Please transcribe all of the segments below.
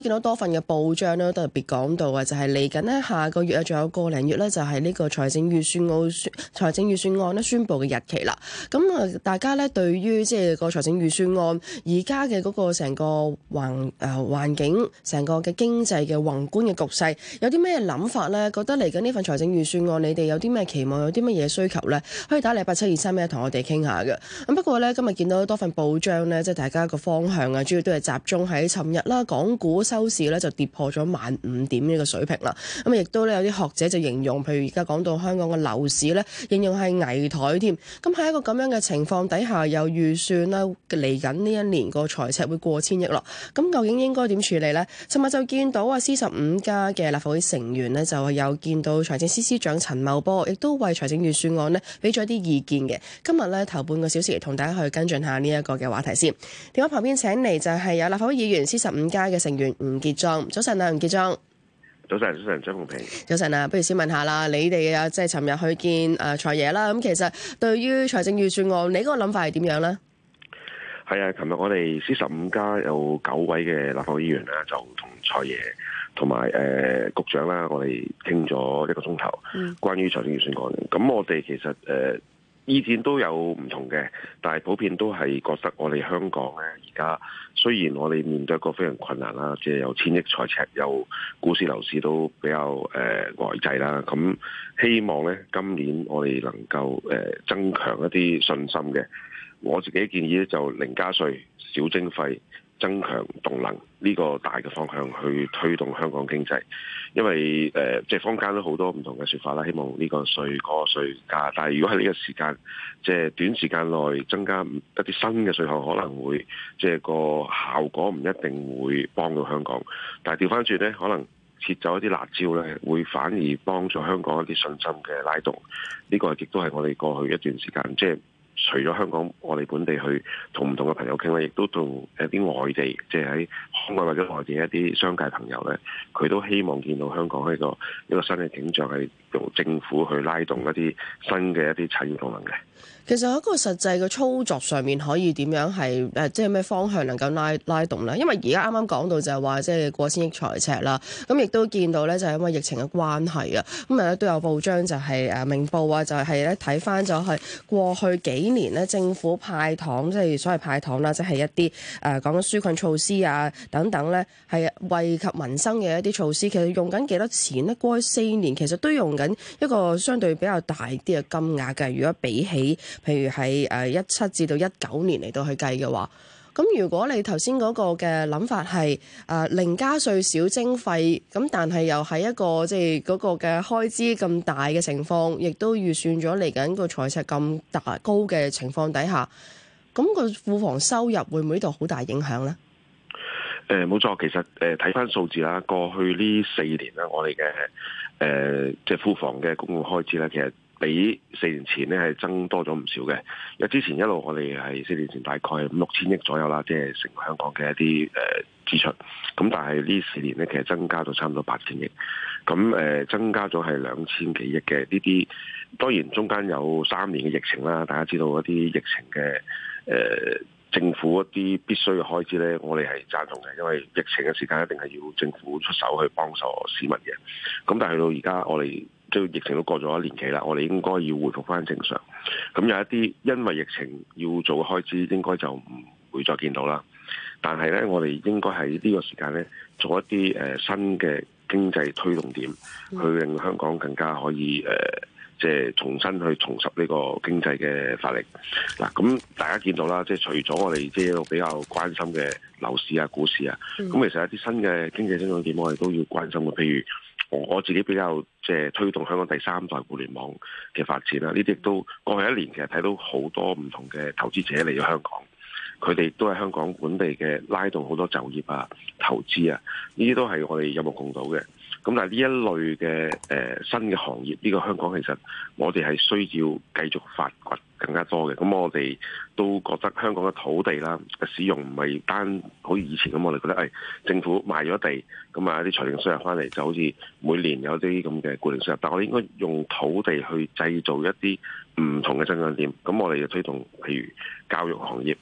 見到多份嘅報章咧，都特別講到啊，就係嚟緊呢下個月啊，仲有個零月咧，就係呢個財政預算案咧宣布嘅日期啦。咁啊，大家咧對於即係個財政預算案而家嘅嗰個成個環境、成個嘅經濟嘅宏觀嘅局勢，有啲咩諗法咧？覺得嚟緊呢份財政預算案，你哋有啲咩期望，有啲乜嘢需求咧？可以打嚟8723同我哋傾下嘅。咁不過咧，今日見到多份報章咧，即係大家個方向啊，主要都係集中喺尋日啦，港股收市咧就跌破咗15,000點呢個水平啦。咁亦都咧有啲學者就形容，譬如而家講到香港嘅樓市咧，形容係危殆添。咁喺一個咁樣嘅情況底下，有預算啦，嚟緊呢一年個財赤會過千億咯。咁究竟應該點處理呢？尋日就見到啊，C15+嘅立法會成員呢，就有見到財政司司長陳茂波，亦都為財政預算案呢俾咗啲意見嘅。今日呢，頭半個小時同大家去跟進下呢一個嘅話題先。電話旁邊請嚟就係有立法會議員C15+嘅成員吳傑莊。早晨啊，吳傑莊。 早晨，張鳳平。 早晨啊，不如先問下啦，你哋啊，即係尋日去見財爺啦。咁其實對於財政預算案，你嗰個諗法係點樣咧？ 係啊，琴日我哋C15+有9位嘅立法會議員咧，就同財爺同埋局長啦，我哋傾咗1個鐘頭，關於財政預算案。咁我哋其實意見都有唔同嘅，但係普遍都係覺得我哋香港咧而家雖然我哋面對一個非常困難啦，即係有千億財赤，有股市樓市都比較呆滯啦。咁希望咧今年我哋能夠增強一啲信心嘅。我自己建議咧就零加稅、少徵費、增強動能呢個大嘅方向去推動香港經濟，因為即係坊間都好多唔同嘅說法啦，希望呢個稅嗰個稅加，但係如果喺呢個時間即係短時間內增加一啲新嘅稅項，可能會即係個效果唔一定會幫到香港，但係調翻轉咧，可能撤走一啲辣椒咧，會反而幫助香港一啲信心嘅拉動。呢個亦都係我哋過去一段時間即係。除咗香港，我哋本地去同唔同嘅朋友傾咧，亦都同一啲外地，即係喺海外或者內地一啲商界朋友咧，佢都希望見到香港係一個新嘅景象，係用政府去拉動一啲新嘅一啲產業動能嘅。 其實喺一個實際嘅操作上面，可以點樣係即係咩方向能夠拉動咧？因為而家啱啱講到就係話，即係過千億財赤啦。咁亦都見到咧，就係因為疫情嘅關係啊。咁啊都有報章就係明報啊，就係咧睇翻咗係過去幾年咧，政府派糖，即係所謂派糖啦，即係一啲講緊紓困措施啊等等咧，係惠及民生嘅一啲措施。其實用緊幾多錢咧？過去4年其實都用緊一個相對比較大啲嘅金額嘅。如果比起譬如喺17至到19年嚟到去計嘅話，咁如果你頭先嗰個嘅諗法係零加稅少徵費，咁但係又係一個即係嗰個嘅開支咁大嘅情況，亦都預算咗嚟緊個財赤咁大高嘅情況底下，咁個庫房收入會唔會呢度好大影響咧？ 冇錯，其實睇翻數字啦，過去呢4年咧，我哋嘅即係庫房嘅公共開支咧，其實比4年前咧係增多咗唔少嘅。因為之前一路我哋係4年前大概5,000-6,000億左右啦，即係成香港嘅一啲支出。咁但係呢4年咧，其實增加到差唔多8,000億。咁增加咗係2,000幾億嘅呢啲。當然中間有3年嘅疫情啦，大家知道一啲疫情嘅政府一啲必須嘅開支咧，我哋係贊同嘅，因為疫情嘅時間一定係要政府出手去幫助市民嘅。咁但係去到而家，我哋即係疫情都過咗1年幾啦，我哋應該要回復翻正常。咁有一啲因為疫情要做嘅開支，應該就唔會再見到啦。但係咧，我哋應該喺呢個時間咧，做一啲新嘅經濟推動點，去令香港更加可以即係重新去重拾呢個經濟嘅發力。嗱，咁大家見到啦，即係除咗我哋即係比較關心嘅樓市啊、股市啊，咁其實一啲新嘅經濟增長點，我哋都要關心嘅。譬如我自己比較即係推動香港第3代互聯網嘅發展啦，呢啲亦都過去1年其實睇到好多唔同嘅投資者嚟咗香港，佢哋都係香港本地嘅拉動好多就業啊、投資啊，呢啲都係我哋有目共睹嘅。咁但係呢一類嘅新嘅行業，呢個香港其實我哋係需要繼續發掘更加多嘅。咁我哋都覺得香港嘅土地啦使用唔係單好似以前咁，我哋覺得政府賣咗地，咁啊啲財政收入翻嚟就好似每年有啲咁嘅固定收入，但我哋應該用土地去製造一啲唔同嘅增長點。咁我哋就推動譬如教育行業、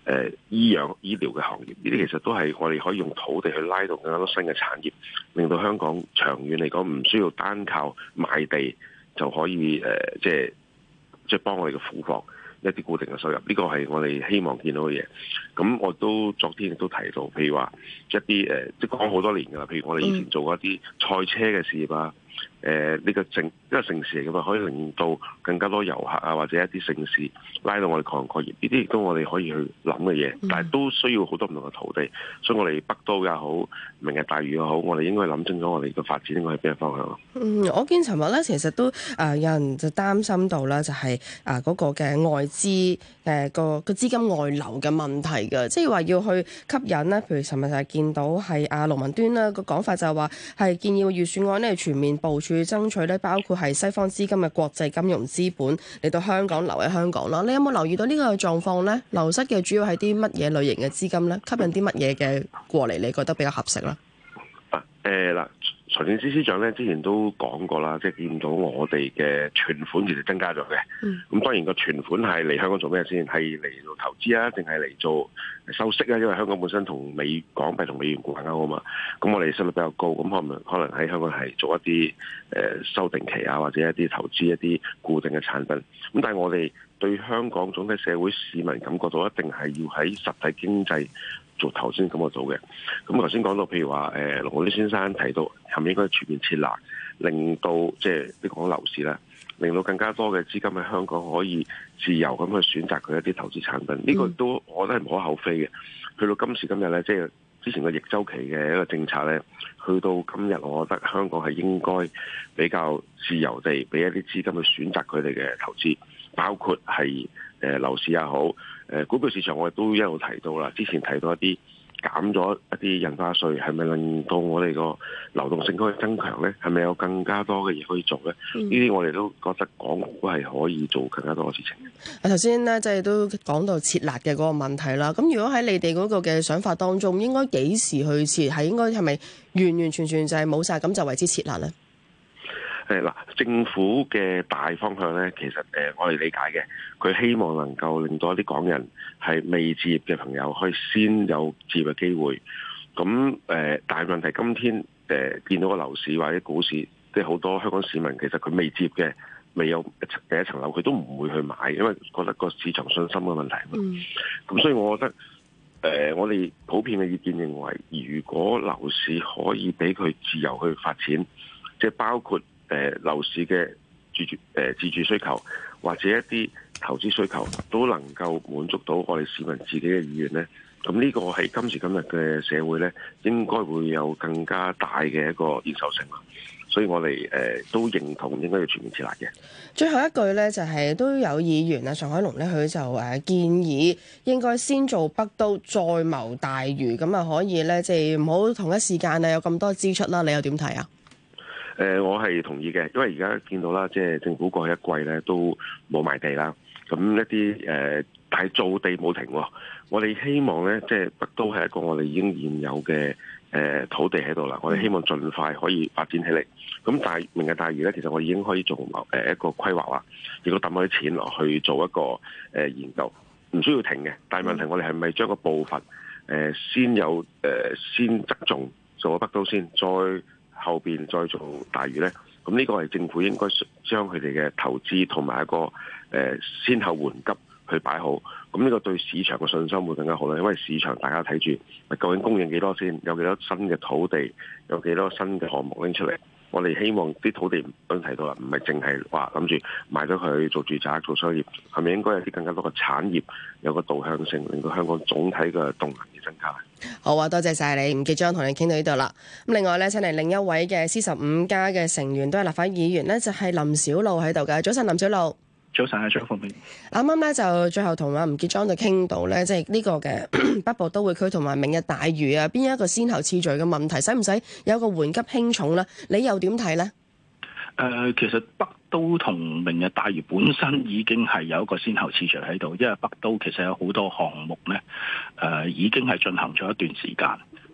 醫療嘅行業，呢啲其實都係我哋可以用土地去拉動更加多新嘅產業，令到香港長遠嚟講唔需要單靠賣地就可以即係幫我哋嘅庫房一啲固定嘅收入。呢個係我哋希望見到嘅嘢。咁我都昨天亦都提到，譬如話一啲即係講好多年㗎啦，譬如我哋以前做過一啲賽車嘅事業啊。呢個城市嚟嘅嘛，可以令到更加多遊客啊，或者一啲城市拉到我哋各行各業，呢啲亦都我哋可以去諗嘅嘢，但係都需要好多唔同嘅土地，所以我哋北都也好，明日大嶼也好，我哋應該諗清楚我哋嘅發展應該係邊個方向咯。 我見尋日咧，其實都有人就擔心到啦，就係嗰個嘅外資個資金外流嘅問題嘅，即係話要去吸引咧，譬如尋日就係見到係盧文端啦個講法就係話係建議預算案咧全面部署爭取咧，包括係西方資金嘅國際金融資本嚟到香港留喺香港啦。你有冇留意到呢個狀況咧？流失嘅主要係啲乜嘢類型嘅資金咧？吸引啲乜嘢嘅過嚟？你覺得比較合適咧？ 嗱，財政司司長咧之前都講過啦，即係見到我哋嘅存款其實增加咗嘅。咁當然個存款係嚟香港做咩先？係嚟做投資啊，定係嚟做收息啊？因為香港本身同港幣同美元掛鈎啊嘛。咁我哋息率比較高，咁可能喺香港係做一啲收定期啊，或者一啲投資一啲固定嘅產品。咁但係我哋對香港總體社會市民感覺到一定係要喺實體經濟做頭先咁我做嘅。咁頭先講到譬如話龍傲天先生提到係咪應該全面設立，令到即係你講樓市啦，令到更加多嘅資金喺香港可以自由咁去選擇佢一啲投資產品，呢個都我覺得係無可厚非嘅。去到今時今日咧，即係之前個逆周期嘅一個政策咧，去到今日我覺得香港係應該比較自由地俾一啲資金去選擇佢哋嘅投資，包括係樓市也好，股票市場我哋都一路提到啦。之前提到一啲減咗一啲印花稅，係咪令到我哋個流動性可以增強咧？係咪有更加多嘅嘢可以做咧？呢啲我哋都覺得港股係可以做更加多嘅事情。 頭先咧，即係都講到設立嘅嗰個問題啦。咁如果喺你哋嗰個嘅想法當中，應該幾時去設？係咪完完全全就係冇晒咁就為之設立咧？ 政府嘅大方向咧，其實我哋理解嘅，佢希望能夠令到一啲港人係未置業嘅朋友可以先有置業嘅機會。咁但係問題今天見到個樓市或者股市，即係好多香港市民其實佢未置業嘅，未有第一層樓，佢都唔會去買，因為覺得個市場信心嘅問題嘛。咁所以我覺得我哋普遍嘅意見認為，如果樓市可以俾佢自由去發展，即係包括樓市嘅自住需求或者一啲投資需求都能夠滿足到我哋市民自己嘅意願咧，咁呢個係今時今日嘅社會咧，應該會有更加大嘅一個認受性啦。所以我哋都認同應該要全面設立嘅。 最後一句咧，就係都有議員啊，尚海龍咧，佢就建議應該先做北都，再謀大嶼，咁啊可以咧，即係唔好同一時間啊有咁多支出啦。你又點睇啊？ 我係同意嘅，因為而家見到啦，即係政府過去一季咧都冇賣地啦，咁一啲但係造地冇停喎。我哋希望咧，即係北都係一個我哋已經現有嘅土地喺度啦，我哋希望盡快可以發展起嚟。咁明日大嶼咧，其實我已經可以做一個規劃啦，亦都抌咗啲錢落去做一個研究，唔需要停嘅。但係問題我哋係咪將個步伐先側重做咗北都先，再後邊再做大嶼咧？咁呢個係政府應該將佢哋嘅投資同埋一個先後緩急去擺好。咁呢個對市場嘅信心會更加好啦，因為市場大家睇住究竟供應幾多先，有幾多新嘅土地，有幾多新嘅項目拎出嚟。我哋希望啲土地都提到啦，唔係淨係話諗住賣咗佢做住宅做商業，係咪應該有啲更加多嘅產業有個導向性，令到香港總體嘅動能而增加？ 好啊，多謝晒你，吳傑莊同你傾到呢度啦。咁另外咧，請嚟另一位嘅 C15+嘅成員都係立法議員咧，就係林筱魯喺度嘅。早晨，林筱魯。 早晨啊，張鳳平。 啱啱咧就最後同阿吳傑莊就傾到咧，即係呢個嘅北部都會區同埋明日大嶼啊，邊一個先後次序嘅問題，使唔使有個緩急輕重咧？你又點睇咧？ 其實北都同明日大嶼本身已經係有一個先後次序喺度，因為北都其實有好多項目咧，已經係進行咗一段時間。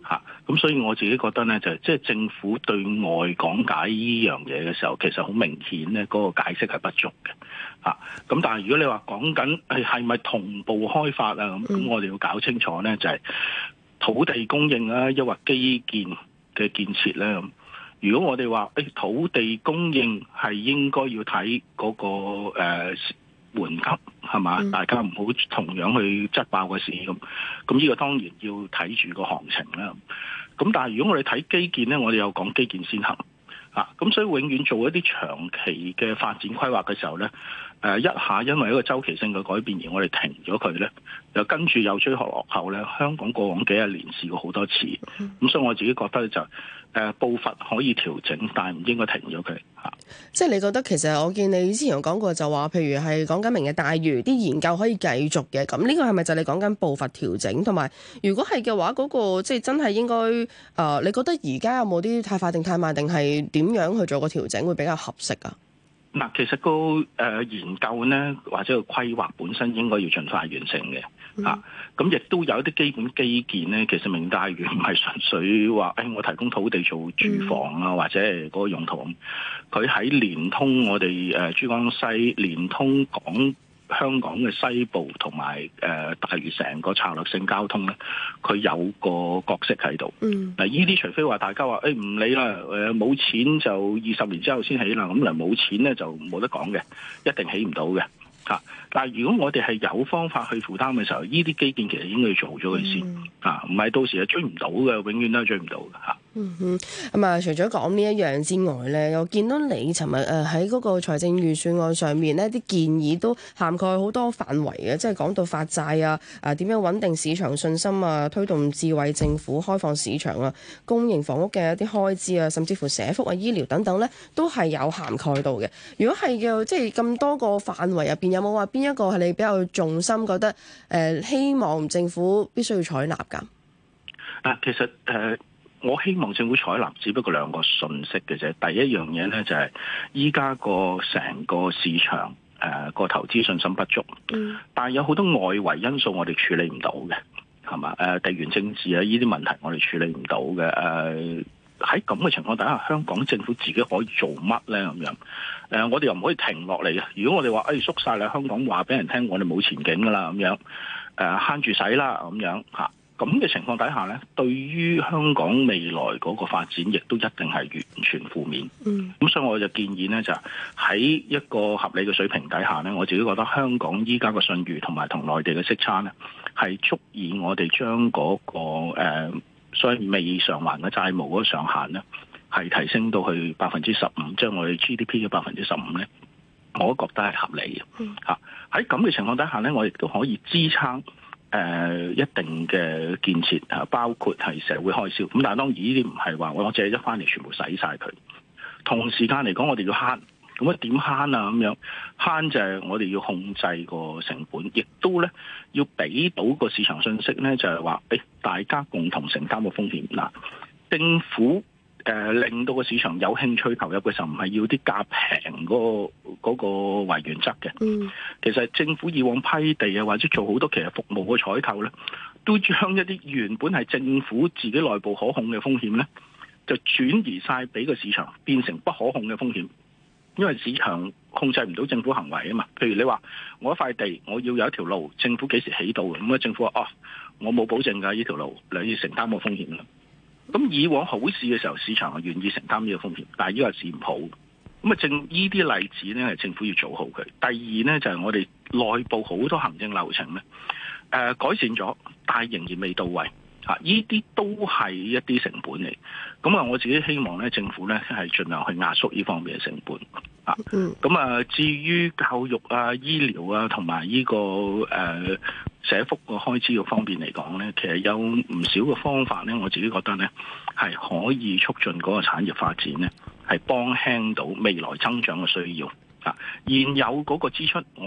咁所以我自己覺得咧，就即係政府對外講解呢樣嘢嘅時候，其實好明顯咧，嗰個解釋係不足嘅。咁但係如果你話講緊係咪同步開發啊咁我哋要搞清楚咧，就係土地供應啊，抑或基建嘅建設咧咁。如果我哋話土地供應係應該要睇嗰個緩急係嘛，大家唔好同樣去擠爆個市咁。咁呢個當然要睇住個行情啦。咁但係如果我哋睇基建咧，我哋又講基建先行咁所以永遠做一啲長期嘅發展規劃嘅時候咧，一下因為一個周期性嘅改變而我哋停咗佢咧，又跟住又追學落後咧。香港過往幾十年試過好多次，咁所以我自己覺得就步伐可以調整，但係唔應該停咗佢。 即係你覺得其實我見你之前有講過就話，譬如係講緊明日大嶼啲研究可以繼續嘅，咁呢個係咪就係你講緊步伐調整？同埋如果係嘅話，嗰個即係真係應該你覺得而家有冇啲太快定太慢，定係點樣去做個調整會比較合適啊？ 嗱，其實個研究咧，或者個規劃本身應該要盡快完成嘅。咁亦都有一啲基本基建咧，其實明日大嶼唔係純粹話我提供土地做住房啊，或者係嗰個用途。佢喺連通我哋珠江西，連通香港嘅西部同埋大嶼成個策略性交通咧，佢有個角色喺度。嗱，呢啲除非話大家話唔理啦，冇錢就20年之後先起啦，咁嗱冇錢咧就冇得講嘅，一定起唔到嘅。但係如果我哋係有方法去負擔嘅時候，呢啲基建其實應該要做咗佢先，唔係到時係追唔到嘅，永遠都係追唔到嘅。 咁啊，除咗講呢一樣之外咧，我見到你尋日喺嗰個財政預算案上面呢啲建議都涵蓋好多範圍嘅，即係講到發債啊，點樣穩定市場信心啊，推動智慧政府、開放市場啊，公營房屋嘅一啲開支啊，甚至乎社福啊、醫療等等咧，都係有涵蓋到嘅。如果係嘅，即係咁多個範圍入邊，有冇話邊一個係你比較重心覺得希望政府必須要採納㗎？ 其實我希望政府採納只不過兩個訊息嘅啫。第一樣嘢咧就係依家個成個市場個投資信心不足，但係有好多外圍因素我哋處理唔到嘅，係嘛？地緣政治啊呢啲問題我哋處理唔到嘅。喺咁嘅情況底下，香港政府自己可以做乜咧？咁樣我哋又唔可以停落嚟嘅。如果我哋話縮晒啦，香港話俾人聽我哋冇前景噶啦，咁樣慳住使啦，咁樣咁嘅情況底下咧，對於香港未來嗰個發展，亦都一定係完全負面。咁所以我就建議咧，就喺一個合理嘅水平底下咧，我自己覺得香港依家個信譽同埋同內地嘅息差咧，係足以我哋將嗰個所謂未償還嘅債務嗰個上限咧，係提升到去15%，即係我哋 GDP 嘅15%咧，我都覺得係合理嘅。喺咁嘅情況底下咧，我亦都可以支撐一定嘅建設包括係社會開銷。咁但係當然呢啲唔係話我借咗翻嚟全部使晒佢。同時間嚟講，我哋要慳。咁點慳啊？咁樣慳就係我哋要控制個成本，亦都咧要俾到個市場信息咧，就係話大家共同承擔個風險。嗱，政府令到個市場有興趣投入嘅時候，唔係要啲價平嗰個為原則嘅。其實政府以往批地啊，或者做好多其實服務嘅採購咧，都將一啲原本係政府自己內部可控嘅風險咧，就轉移晒俾個市場，變成不可控嘅風險。因為市場控制唔到政府行為啊嘛，譬如你話我一塊地我要有一條路，政府幾時起到？咁政府話我冇保證㗎，呢條路你要承擔個風險啦。咁以往好市嘅時候，市場係願意承擔呢個風險，但係依個市唔好。咁正呢啲例子咧，係政府要做好佢。第二咧就係我哋內部好多行政流程咧，改善咗，但係仍然未到位。呢啲都係一啲成本嚟，咁我自己希望咧，政府咧係盡量去壓縮呢方面嘅成本。咁至於教育啊、醫療啊同埋呢個社福個開支嘅方面嚟講咧，其實有唔少嘅方法咧，我自己覺得咧係可以促進嗰個產業發展咧，係幫輕到未來增長嘅需要。現有嗰個支出，我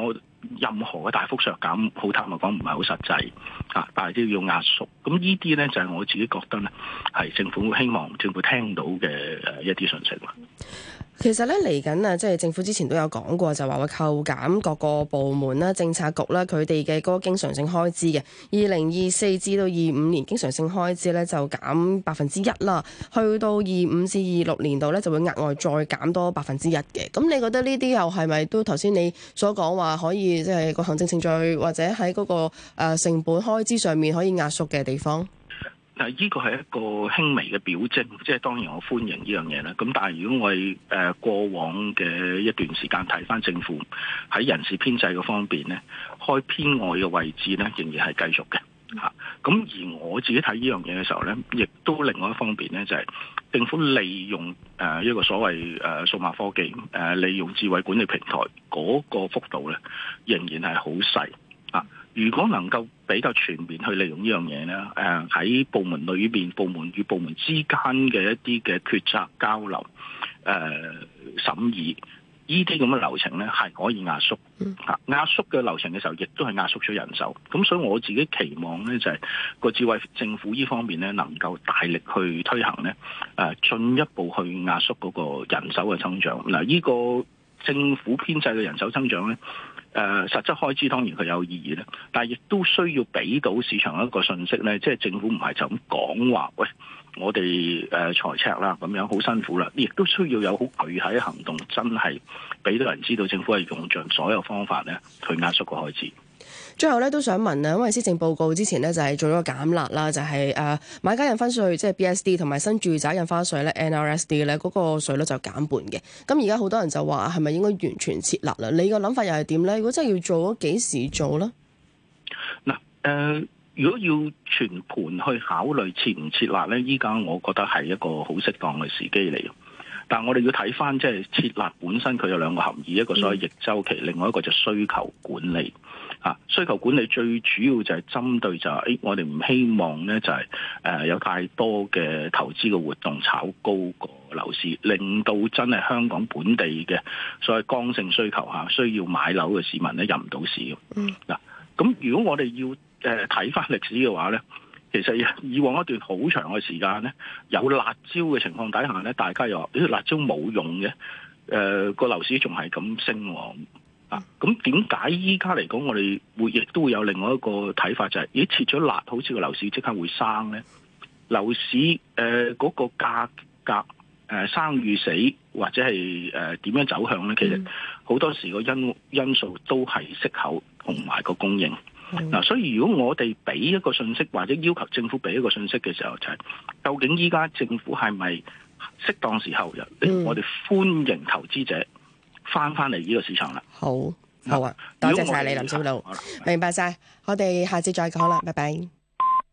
任何嘅大幅削減，好坦白講唔係好實際啊，但係都要壓縮。咁呢啲咧就係我自己覺得咧係政府希望政府聽到嘅一啲信息。 其實咧嚟緊啊，即係政府之前都有講過，就話會扣減各個部門啦、政策局啦佢哋嘅嗰個經常性開支嘅。2024至到25年經常性開支咧就減1%啦，去到25至26年度咧就會額外再減多1%嘅。咁你覺得呢啲又係咪都頭先你所講話可以即係個行政程序或者喺嗰個成本開支上面可以壓縮嘅地方？ 嗱，呢個係一個輕微嘅表徵，即係當然我歡迎呢樣嘢啦。咁但係如果我哋過往嘅一段時間睇翻政府喺人事編制嘅方面咧，開編外嘅位置咧仍然係繼續嘅嚇。咁而我自己睇呢樣嘢嘅時候咧，亦都另外一方面咧就係政府利用一個所謂數碼科技利用智慧管理平台嗰個幅度咧，仍然係好細啊。如果能夠比較全面去利用呢樣嘢咧，喺部門裏邊、部門與部門之間嘅一啲嘅決策交流、審議，呢啲咁嘅流程咧係可以壓縮。壓縮嘅流程嘅時候，亦都係壓縮咗人手。咁所以我自己期望咧就係個智慧政府呢方面咧，能夠大力去推行咧，進一步去壓縮嗰個人手嘅增長。嗱，呢個政府編制嘅人手增長咧。實質開支當然佢有意義咧，但係亦都需要俾到市場一個信息咧，即係政府唔係就咁講話，喂，我哋財赤啦咁樣好辛苦啦，亦都需要有好具體嘅行動，真係俾到人知道政府係用盡所有方法咧去壓縮個開支。 最後咧都想問啊，因為施政報告之前咧就係做咗個減辣啦，就係買家印花稅即係 BSD 同埋新住宅印花稅咧 NRSD 咧嗰個稅率就減半嘅。咁而家好多人就話係咪應該完全撤辣啦？你個諗法又係點咧？如果真係要做，幾時做咧？ 嗱，如果要全盤去考慮撤唔撤辣咧，依家我覺得係一個好適當嘅時機嚟。但係我哋要睇翻即係撤辣本身，佢有兩個含義，一個所謂逆週期，另外一個就需求管理。需求管理最主要就係針對就係，我哋唔希望咧就係有太多嘅投資嘅活動炒高個樓市，令到真係香港本地嘅所謂剛性需求需要買樓嘅市民咧入唔到市嘅。嗱，咁如果我哋要睇翻歷史嘅話咧，其實以往一段好長嘅時間咧，有辣椒嘅情況底下咧，大家又話呢辣椒冇用嘅，個樓市仲係咁升喎。咁點解依家嚟講，我哋亦都會有另外一個睇法，就係咦，切咗辣，好似個樓市即刻會生咧？樓市嗰個價格生與死，或者係點樣走向咧？其實好多時個因素都係息口同埋個供應。所以如果我哋俾一個信息，或者要求政府俾一個信息嘅時候，就係究竟依家政府係咪適當時候我哋歡迎投資者翻嚟呢個市場啦？ 好啊，多謝晒你林筱魯，明白晒，我哋下次再講啦，拜拜。